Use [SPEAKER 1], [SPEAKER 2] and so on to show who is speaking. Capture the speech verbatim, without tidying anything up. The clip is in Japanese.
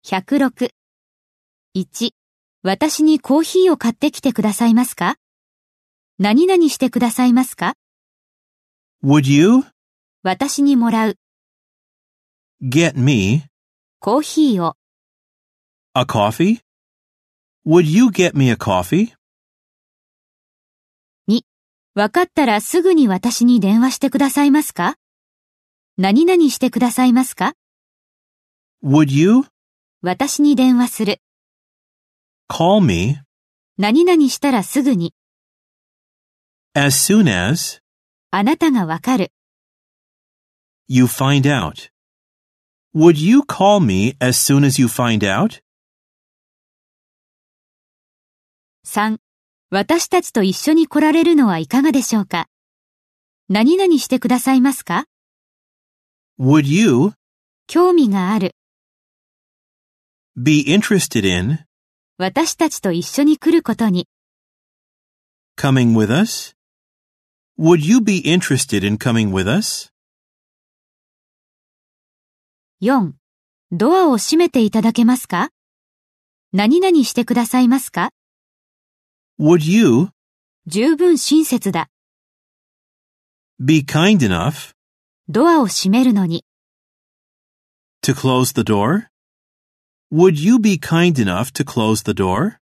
[SPEAKER 1] ひゃくろく。いち、私にコーヒーを買ってきてくださいますか？何々してくださいますか？
[SPEAKER 2] Would you
[SPEAKER 1] 私にもらう、
[SPEAKER 2] get me
[SPEAKER 1] コーヒーを、
[SPEAKER 2] a coffee? Would you get me a coffee?
[SPEAKER 1] に、わかったらすぐに私に電話してくださいますか？何々してくださいますか？
[SPEAKER 2] Would you
[SPEAKER 1] 私に電話する、
[SPEAKER 2] call me
[SPEAKER 1] 何々したらすぐに、
[SPEAKER 2] as soon as
[SPEAKER 1] あなたがわかる、
[SPEAKER 2] you find out? Would you call me as soon as you find out?
[SPEAKER 1] さん、私たちと一緒に来られるのはいかがでしょうか？何々してくださいますか？
[SPEAKER 2] Would you
[SPEAKER 1] 興味がある、
[SPEAKER 2] be interested in
[SPEAKER 1] 私たちと一緒に来ることに、
[SPEAKER 2] coming with us? Would you be interested in coming with us?
[SPEAKER 1] よん、ドアを閉めていただけますか？何々してくださいますか？
[SPEAKER 2] Would you
[SPEAKER 1] 十分親切だ、
[SPEAKER 2] be kind enough
[SPEAKER 1] ドアを閉めるのに、
[SPEAKER 2] to close the door? Would you be kind enough to close the door?